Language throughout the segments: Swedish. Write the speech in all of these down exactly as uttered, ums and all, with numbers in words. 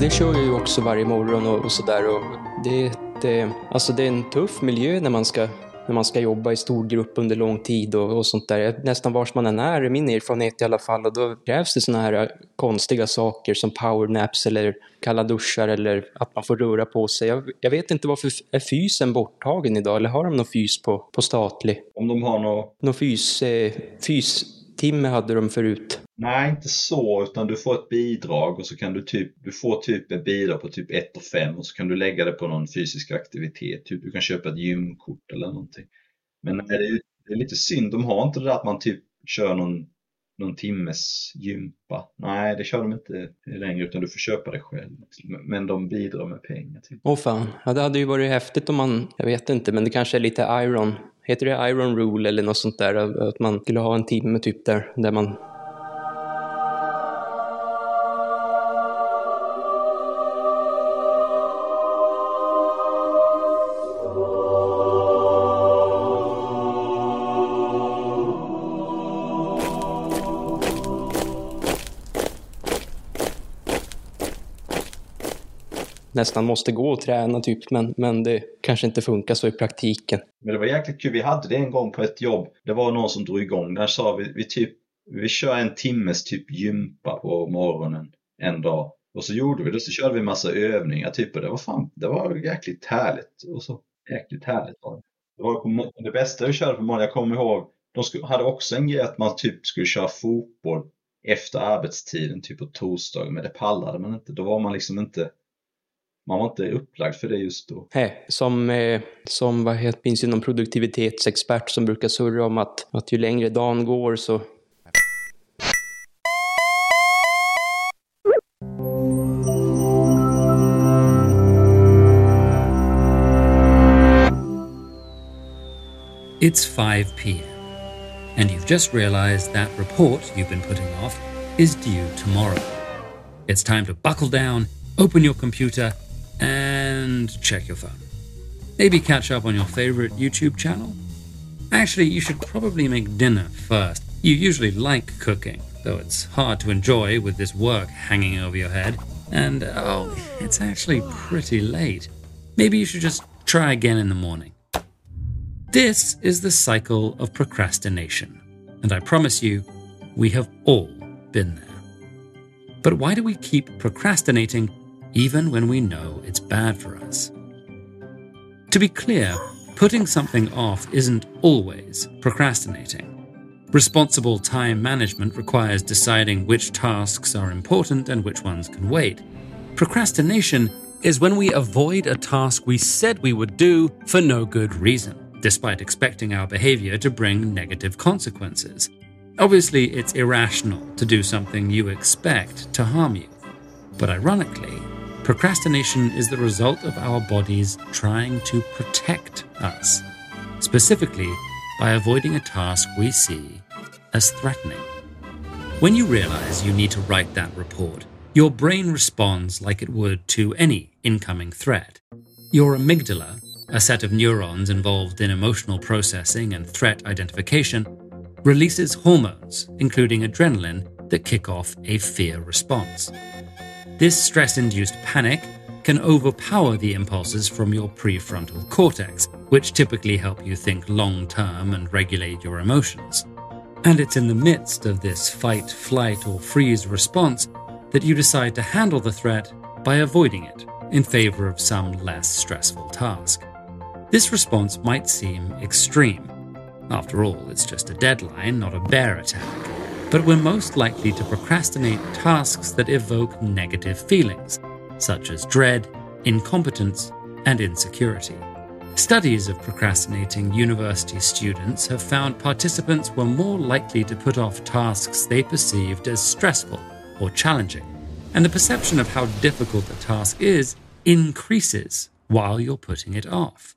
jag kör ju också varje morgon och, och sådär. Och det, det, alltså det är en tuff miljö när man ska, när man ska jobba i stor grupp under lång tid och, och sånt där. Nästan vars man än är, min erfarenhet i alla fall. Och då krävs det såna här konstiga saker som powernaps eller kalla duschar eller att man får röra på sig. Jag, jag vet inte varför är fysen borttagen idag, eller har de någon fys på, på statlig? Om de har någon... Någon fys, eh, fystimme hade de förut. Nej, inte så, utan du får ett bidrag och så kan du typ, du får typ ett bidrag på typ ett och fem och så kan du lägga det på någon fysisk aktivitet. Typ du kan köpa ett gymkort eller någonting. Men det är, det är lite synd, de har inte det där att man typ kör någon, någon timmes gympa. Nej, det kör de inte längre utan du får köpa det själv. Men de bidrar med pengar till. Åh fan, ja, det hade ju varit häftigt om man, jag vet inte, men det kanske är lite Iron. Heter det Iron Rule eller något sånt där? Att man skulle ha en timme typ där, där man... nästan måste gå och träna typ, men, men det kanske inte funkar så i praktiken. Men det var jäkligt kul, vi hade det en gång på ett jobb. Det var någon som drog igång, där sa vi, vi typ, vi kör en timmes typ gympa på morgonen en dag. Och så gjorde vi det, så körde vi massa övningar typ, och det var fan, det var jäkligt härligt. Och så jäkligt härligt var det. Det var på, det bästa vi körde på morgonen, jag kommer ihåg, de skulle, hade också en grej att man typ skulle köra fotboll efter arbetstiden typ på torsdag, men det pallade man inte. Då var man liksom inte Man var inte upplagd för det just då. Hey, som, eh, som vad heter, finns ju någon produktivitetsexpert som brukar surra om att, att ju längre dagen går så... It's five p.m. and you've just realized that report you've been putting off is due tomorrow. It's time to buckle down, open your computer, and check your phone. Maybe catch up on your favorite YouTube channel. Actually, you should probably make dinner first. You usually like cooking, though it's hard to enjoy with this work hanging over your head. And, oh, it's actually pretty late. Maybe you should just try again in the morning. This is the cycle of procrastination. And I promise you, we have all been there. But why do we keep procrastinating even when we know it's bad for us? To be clear, putting something off isn't always procrastinating. Responsible time management requires deciding which tasks are important and which ones can wait. Procrastination is when we avoid a task we said we would do for no good reason, despite expecting our behavior to bring negative consequences. Obviously, it's irrational to do something you expect to harm you. But ironically, procrastination is the result of our bodies trying to protect us, specifically by avoiding a task we see as threatening. When you realize you need to write that report, your brain responds like it would to any incoming threat. Your amygdala, a set of neurons involved in emotional processing and threat identification, releases hormones, including adrenaline, that kick off a fear response. This stress-induced panic can overpower the impulses from your prefrontal cortex, which typically help you think long-term and regulate your emotions. And it's in the midst of this fight, flight, or freeze response that you decide to handle the threat by avoiding it in favor of some less stressful task. This response might seem extreme. After all, it's just a deadline, not a bear attack. But we're most likely to procrastinate tasks that evoke negative feelings, such as dread, incompetence, and insecurity. Studies of procrastinating university students have found participants were more likely to put off tasks they perceived as stressful or challenging, and the perception of how difficult a task is increases while you're putting it off.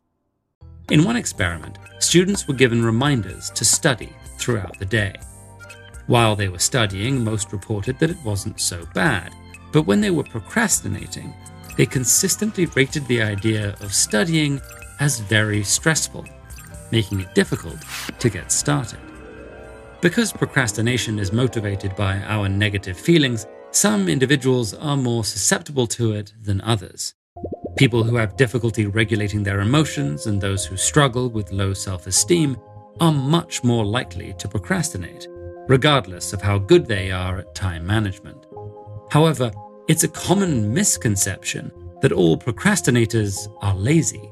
In one experiment, students were given reminders to study throughout the day. While they were studying, most reported that it wasn't so bad, but when they were procrastinating, they consistently rated the idea of studying as very stressful, making it difficult to get started. Because procrastination is motivated by our negative feelings, some individuals are more susceptible to it than others. People who have difficulty regulating their emotions and those who struggle with low self-esteem are much more likely to procrastinate, regardless of how good they are at time management. However, it's a common misconception that all procrastinators are lazy.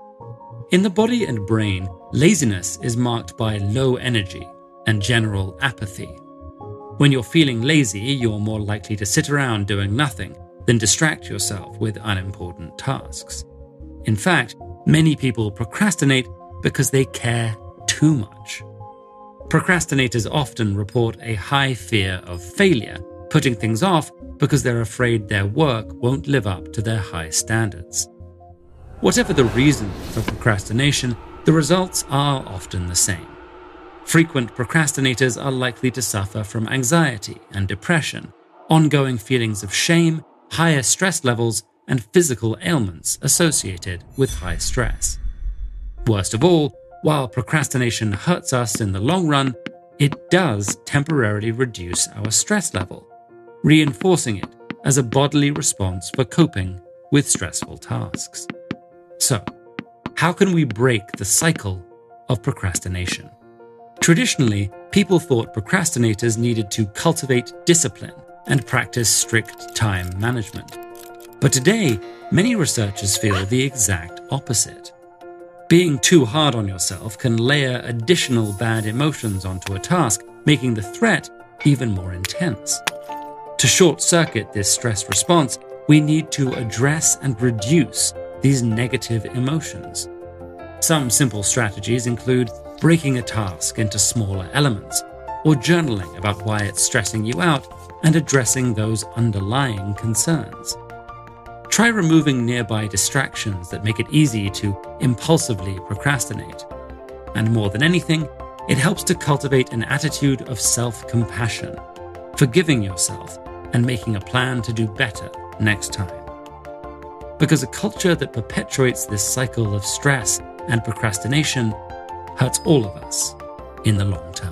In the body and brain, laziness is marked by low energy and general apathy. When you're feeling lazy, you're more likely to sit around doing nothing than distract yourself with unimportant tasks. In fact, many people procrastinate because they care too much. Procrastinators often report a high fear of failure, putting things off because they're afraid their work won't live up to their high standards. Whatever the reason for procrastination, the results are often the same. Frequent procrastinators are likely to suffer from anxiety and depression, ongoing feelings of shame, higher stress levels, and physical ailments associated with high stress. Worst of all, while procrastination hurts us in the long run, it does temporarily reduce our stress level, reinforcing it as a bodily response for coping with stressful tasks. So, how can we break the cycle of procrastination? Traditionally, people thought procrastinators needed to cultivate discipline and practice strict time management. But today, many researchers feel the exact opposite. Being too hard on yourself can layer additional bad emotions onto a task, making the threat even more intense. To short-circuit this stress response, we need to address and reduce these negative emotions. Some simple strategies include breaking a task into smaller elements, or journaling about why it's stressing you out and addressing those underlying concerns. Try removing nearby distractions that make it easy to impulsively procrastinate. And more than anything, it helps to cultivate an attitude of self-compassion, forgiving yourself and making a plan to do better next time. Because a culture that perpetuates this cycle of stress and procrastination hurts all of us in the long term.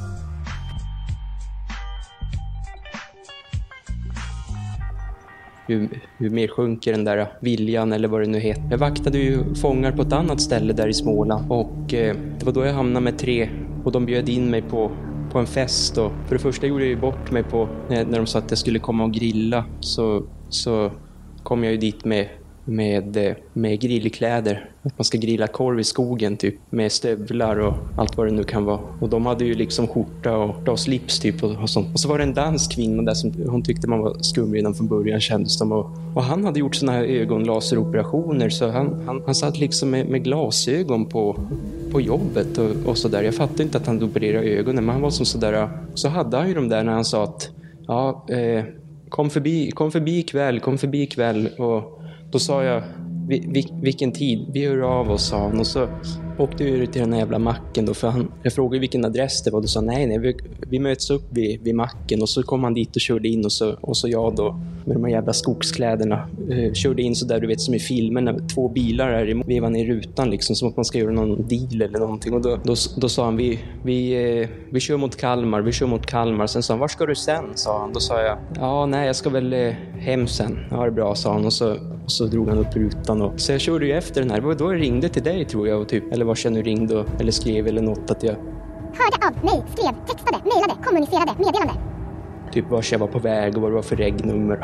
Hur, hur mer sjunker den där viljan eller vad det nu heter. Jag vaktade ju fångar på ett annat ställe där i Småland och eh, det var då jag hamnade med tre och de bjöd in mig på, på en fest. Och för det första gjorde jag ju bort mig på när, när de sa att jag skulle komma och grilla så, så kom jag ju dit med med, med grillkläder. Att man ska grilla korv i skogen typ. Med stövlar och allt vad det nu kan vara. Och de hade ju liksom skjorta och, och slips typ och, och sånt. Och så var det en dansk kvinna där som hon tyckte man var skum redan från början kändes de. Och, och han hade gjort såna här ögonlaseroperationer så han, han, han satt liksom med, med glasögon på, på jobbet och, och sådär. Jag fattade inte att han opererade ögonen men han var som sådär. Så hade han ju de där när han sa att ja, eh, kom förbi, kom förbi ikväll, kom förbi ikväll och då sa jag, vil, vilken tid? Vi hör av oss, sa han. Och så åkte vi ut till den här jävla macken då. För han, jag frågade vilken adress det var. Då sa nej, nej, vi, vi möts upp vid, vid macken. Och så kom han dit och körde in. Och så, och så jag då, med de här jävla skogskläderna, eh, körde in så där, du vet, som i filmen. När två bilar är i, vevan i rutan liksom. Som att man ska göra någon deal eller någonting. Och då, då, då sa han, vi, vi, eh, vi kör mot Kalmar, vi kör mot Kalmar. Sen sa han, var ska du sen? Sa han. Då sa jag, ja, nej, jag ska väl eh, hem sen. Ja, det är bra, sa han. Och så... Och så drog han upp rutan och så jag körde ju efter den här. Det var då jag ringde till dig tror jag och typ, eller vad jag nu ringde och, eller skrev eller något att jag hörde av mig, skrev, textade, mejlade, kommunicerade, meddelande. Typ vad jag var på väg och vad det var för regnummer.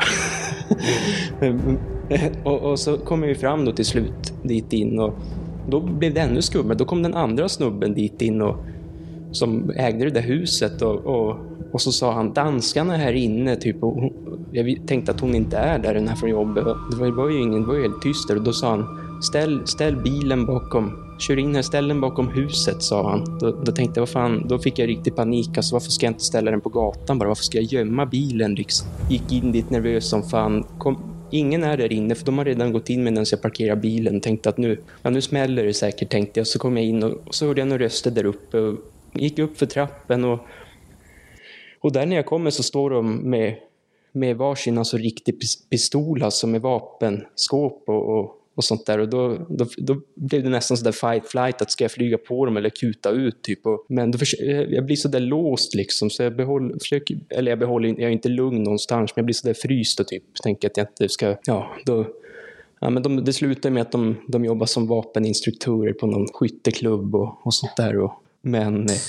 och, och så kom jag ju fram då till slut dit in och då blev det ännu skummare. Då kom den andra snubben dit in och som ägde det där huset och, och, och så sa han, danskarna är här inne typ och hon, jag tänkte att hon inte är där den här från jobbet. Det var, det var ju ingen, det var ju helt tyst där och då sa han, ställ, ställ bilen bakom, kör in här, ställ den bakom huset, sa han. Då, då tänkte jag, vad fan, då fick jag riktigt panik, alltså varför ska jag inte ställa den på gatan bara, varför ska jag gömma bilen liksom? Gick in dit nervös som fan, kom, ingen är där inne för de har redan gått in medan jag parkerar bilen, tänkte att nu, ja, nu smäller det säkert, tänkte jag. Så kom jag in och, och så hörde jag några röster där uppe och gick upp för trappen och och där när jag kommer så står de med med varsin alltså riktig pistol alltså med vapenskåp och, och, och sånt där. Och då, då, då blev det nästan sådär fight flight, att ska jag flyga på dem eller kuta ut typ. Och, men då försöker, jag blir sådär låst liksom, så jag behåller, försöker, eller jag behåller, jag är inte lugn någonstans, men jag blir sådär fryst och typ tänker att jag inte ska, ja, då, ja men de, det slutar med att de, de jobbar som vapeninstruktörer på någon skytteklubb och, och sånt där. Och, men... Eh,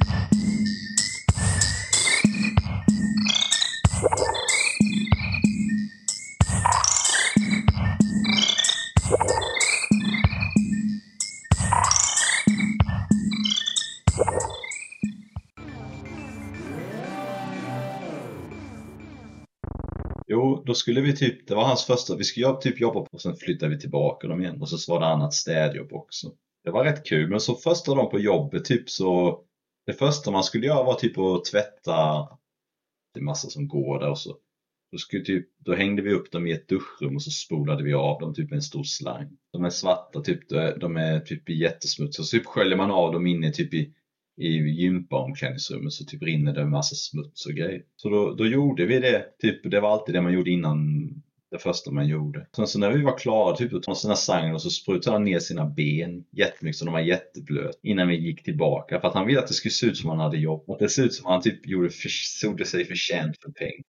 Jo, då skulle vi typ, det var hans första, vi skulle typ jobba på och sen flyttade vi tillbaka dem igen och så var det annat städjobb också. Det var rätt kul, men så första dagen på jobbet typ så, det första man skulle göra var typ att tvätta, det är massa som går där och så. Då, skulle typ, då hängde vi upp dem i ett duschrum och så spolade vi av dem typ med en stor slang. De är svarta, typ, de är typ jättesmutsiga, så typ sköljer man av dem inne typ i i gympaomklädningsrummet, så typ rinner det en massa smuts och grejer. Så då, då gjorde vi det. Typ, det var alltid det man gjorde innan det första man gjorde. Sen så när vi var klara, typ att ta sina sangen och så sprutade han ner sina ben jättemycket så de var jätteblöt innan vi gick tillbaka. För att han ville att det skulle se ut som han hade jobb. Att det ser ut som han typ gjorde för, såg sig förtjänt för pengar.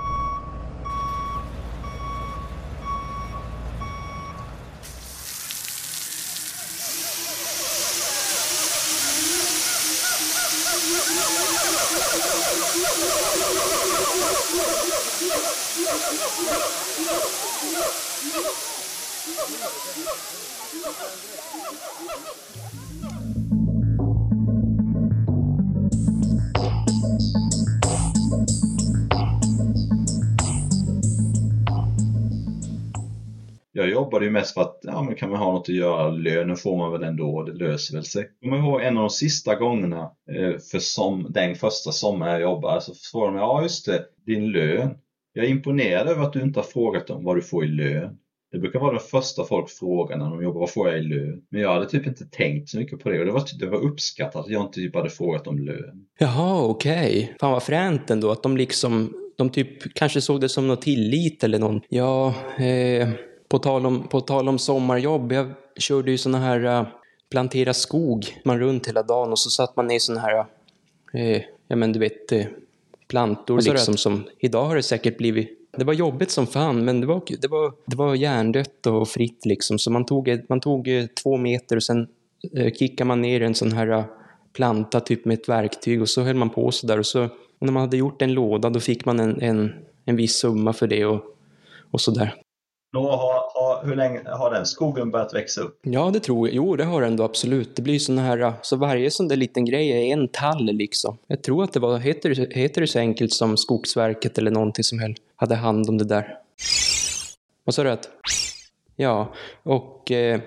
Jag jobbade ju mest för att, ja men kan man ha något att göra, lönen får man väl ändå, det löser väl sig. Jag kommer ihåg en av de sista gångerna eh, för som, den första sommaren jag jobbade, så frågade de, ja just det, din lön. Jag är imponerad över att du inte har frågat om vad du får i lön. Det brukar vara den första folk frågar när de jobbar, vad får jag i lön? Men jag hade typ inte tänkt så mycket på det, och det var, det var uppskattat att jag inte typ hade frågat om lön. Jaha, okej. Okay. Fan vad fränt ändå, att de liksom, de typ kanske såg det som något tillit eller någon. Ja, eh... På tal, om, på tal om sommarjobb, jag körde ju såna här uh, plantera skog, man runt hela dagen och så satt man i såna här, uh, ja men du vet, uh, plantor liksom att... som, idag har det säkert blivit, det var jobbigt som fan, men det var, det var, det var hjärndött och fritt liksom, så man tog, man tog uh, två meter och sen uh, kickade man ner en sån här uh, planta typ med ett verktyg och så höll man på så där och så, och när man hade gjort en låda då fick man en, en, en viss summa för det och, och så där. Har, har, hur länge har den skogen börjat växa upp? Ja, det tror jag. Jo, det har den ändå absolut. Det blir såna här, så varje sån där liten grej är en tall liksom. Jag tror att det var, heter, heter det så enkelt som Skogsverket eller någonting som höll, hade hand om det där. Vad sa du att? Ja, och... Eh...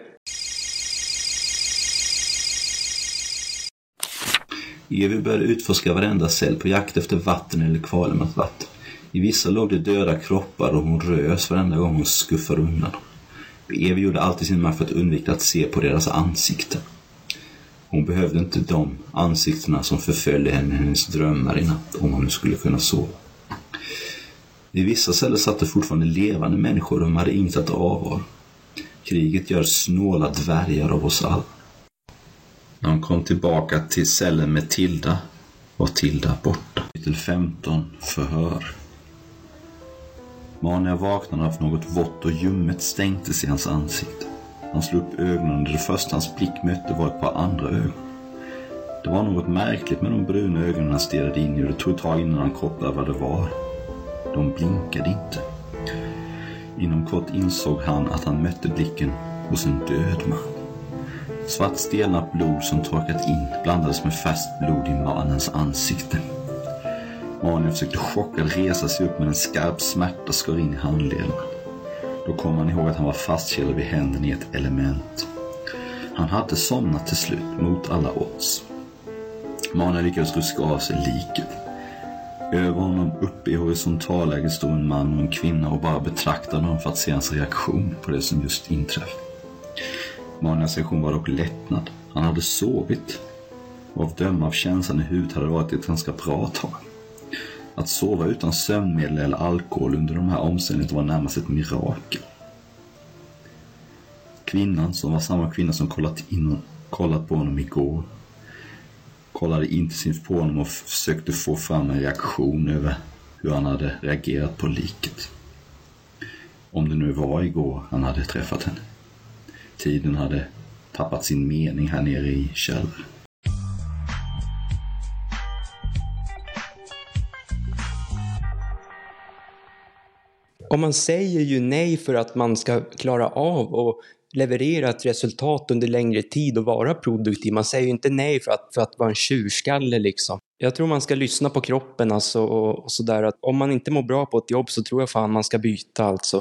Evi började utforska varenda cell på jakt efter vatten eller kvalmat vatten. I vissa låg det döda kroppar och hon rös varenda gång hon skuffade undan dem. Evi gjorde alltid sin makt för att undvika att se på deras ansikten. Hon behövde inte de ansiktena som förföljde henne i hennes drömmar i natt, om hon nu skulle kunna sova. I vissa celler satt det fortfarande levande människor och de hade inget att avvara. Kriget gör snåla dvärgar av oss alla. När hon kom tillbaka till cellen med Tilda var Tilda borta. Kapitel femton, förhör. Mania vaknade av något vått och ljummet stänktes i hans ansikte. Han slog upp ögonen och det första hans blick mötte var ett par andra ögon. Det var något märkligt med de bruna ögonen han stirrade in i, och det tog ett tag innan han kopplade vad det var. De blinkade inte. Inom kort insåg han att han mötte blicken hos en död man. Svart stelnat blod som torkat in blandades med färskt blod i mannens ansikte. Mannen försökte chockad resa sig upp, men en skarp smärta skar in i handleden. Då kom han ihåg att han var fastkedjad vid händen i ett element. Han hade somnat till slut mot alla odds. Mannen lyckades ruska av sig liket. Över honom uppe i horisontalläget stod en man och en kvinna och bara betraktade honom för att se hans reaktion på det som just inträffat. Mannens reaktion var dock lättnad. Han hade sovit. Och av döma av känslan i huvudet hade det varit ett ganska bra tag. Att sova utan sömnmedel eller alkohol under de här omständigheterna var närmast ett mirakel. Kvinnan, som var samma kvinna som kollat, in, kollat på honom igår, kollade intensivt på honom och försökte få fram en reaktion över hur han hade reagerat på liket. Om det nu var igår han hade träffat henne. Tiden hade tappat sin mening här nere i källaren. Om man säger ju nej för att man ska klara av och leverera ett resultat under längre tid och vara produktiv. Man säger ju inte nej för att, för att vara en tjurskalle liksom. Jag tror man ska lyssna på kroppen alltså, och, och sådär. Att om man inte mår bra på ett jobb så tror jag fan man ska byta alltså.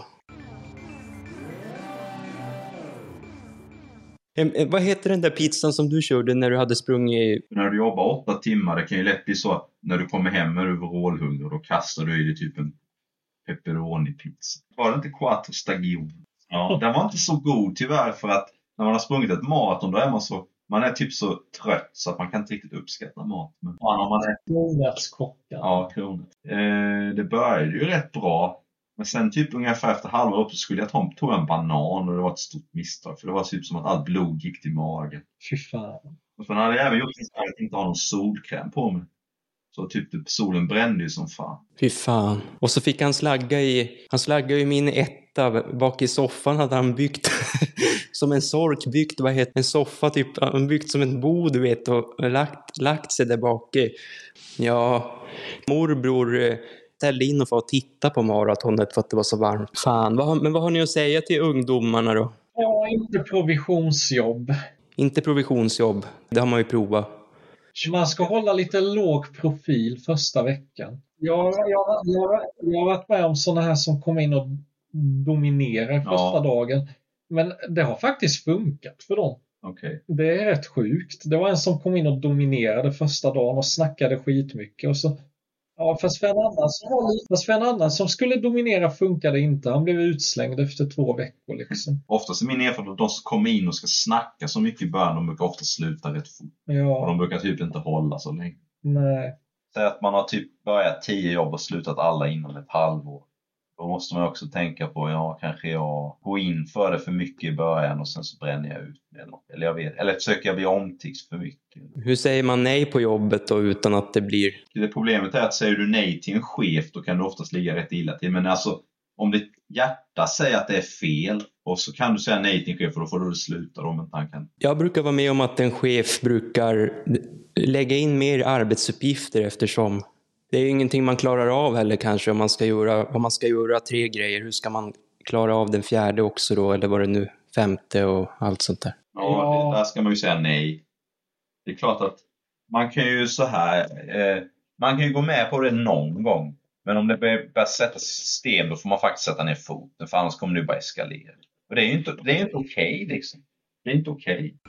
Eh, vad heter den där pizzan som du körde när du hade sprungit? När du jobbar åtta timmar, det kan ju lätt bli så att när du kommer hem med overallhunger och kastar du i det typ en pepperoni-pizza. Var det inte quattro stagion? Ja, den var inte så god tyvärr, för att när man har sprungit ett maraton då är man så, man är typ så trött så att man kan inte riktigt uppskatta mat. Men ja, om man är kronärtskockan. Ja, kronärts. Eh, det började ju rätt bra. Men sen typ ungefär efter halva upp så skulle jag ta, ta en banan och det var ett stort misstag. För det var typ som att allt blod gick till magen. Fy fan. Och sen hade jag även gjort att jag inte ha någon solkräm på mig. Så typ solen brände ju som fan. Fy fan. Och så fick han slagga i, han slagga i min etta. Bak i soffan hade han byggt som en sork byggt, vad heter en soffa typ. Han byggt som en bo du vet och lagt, lagt sig där bak i. Ja, morbror ställde in och för att titta på maratonet för att det var så varmt. Fan, vad, men vad har ni att säga till ungdomarna då? Ja, inte provisionsjobb. Inte provisionsjobb, det har man ju provat. Man ska hålla lite låg profil första veckan. Jag, jag, jag, jag har varit med om sådana här som kom in och dominerar första ja. dagen. Men det har faktiskt funkat för dem. Okay. Det är rätt sjukt. Det var en som kom in och dominerade första dagen och snackade skitmycket. Och så, ja, fast för en annan som, var, fast för en annan som skulle dominera funkade inte. Han blev utslängd efter två veckor. Liksom. Oftast är min erfarenhet att de som kommer in och ska snacka så mycket i början, de brukar ofta sluta rätt fort. Ja. Och de brukar typ inte hålla så länge. Nej. Säg att man har typ börjat tio jobb och slutat alla inom ett halvår. Då måste man också tänka på, ja, kanske jag går in för det för mycket i början och sen så bränner jag ut det. Eller jag vet, eller försöker jag bli omtyckt för mycket. Hur säger man nej på jobbet då utan att det blir... Det problemet är att säger du nej till en chef, då kan du oftast ligga rätt illa till. Men alltså, om ditt hjärta säger att det är fel och så kan du säga nej till en chef och då får du sluta om inte han kan. Jag brukar vara med om att en chef brukar lägga in mer arbetsuppgifter eftersom det är ju ingenting man klarar av heller kanske om man ska göra, om man ska göra tre grejer. Hur ska man klara av den fjärde också då? Eller var det nu femte och allt sånt där? Ja, det, där ska man ju säga nej. Det är klart att man kan ju så här, eh, man kan ju gå med på det någon gång. Men om det börjar sätta system då får man faktiskt sätta ner foten. För annars kommer det bara eskalera. Och det är ju inte, det är inte okej okay, liksom. Det är inte okej. Okay.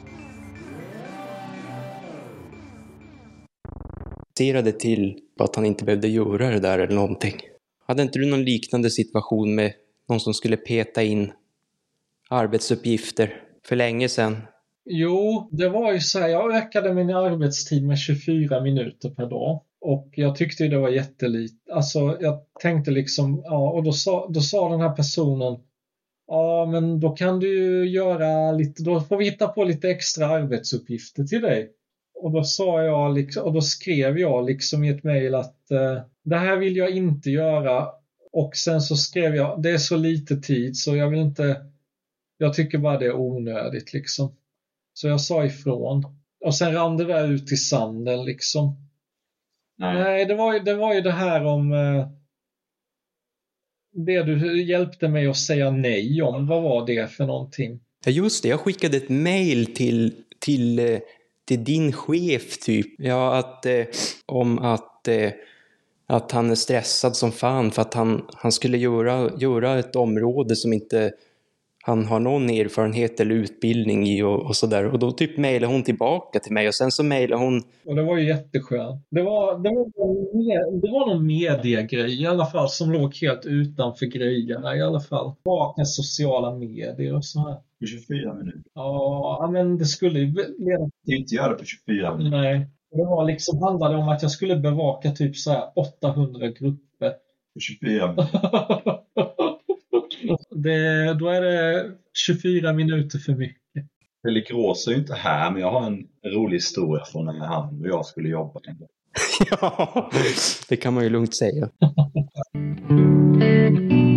Det till att han inte behövde göra det där eller någonting. Hade inte du någon liknande situation med någon som skulle peta in arbetsuppgifter för länge sedan? Jo, det var ju så här, jag ökade min arbetstid med tjugofyra minuter per dag. Och jag tyckte det var jättelite. Alltså jag tänkte liksom, ja, och då sa, då sa den här personen, ja men då kan du ju göra lite, då får vi hitta på lite extra arbetsuppgifter till dig. Och då sa jag liksom, och då skrev jag liksom i ett mejl att eh, det här vill jag inte göra. Och sen så skrev jag, det är så lite tid så jag vill inte, jag tycker bara det är onödigt liksom. Så jag sa ifrån. Och sen rann det där ut i sanden liksom. Nej, Nej det, var ju, det var ju det här om eh, det du hjälpte mig att säga nej om. Vad var det för någonting? Ja just det, jag skickade ett mejl till, till, till din chef typ. Ja, att, eh, om att, eh, att han är stressad som fan för att han, han skulle göra, göra ett område som inte han har någon erfarenhet eller utbildning i och, och sådär. Och då typ mejlade hon tillbaka till mig och sen så mejlade hon... Och det var ju jätteskönt. Det var, det var, det var någon mediegrej i alla fall som låg helt utanför grejerna i alla fall. Baka sociala medier och så här. På tjugofyra minuter? Ja, men det skulle ju... Det inte göra det på tjugofyra minuter. Nej. Det var liksom, handlade om att jag skulle bevaka typ så här åttahundra grupper. På tjugofyra minuter? Det, då är det tjugofyra minuter för mycket. Pelle Grås är ju inte här, men jag har en rolig historia från när han och jag skulle jobba. Ja, det kan man ju lugnt säga.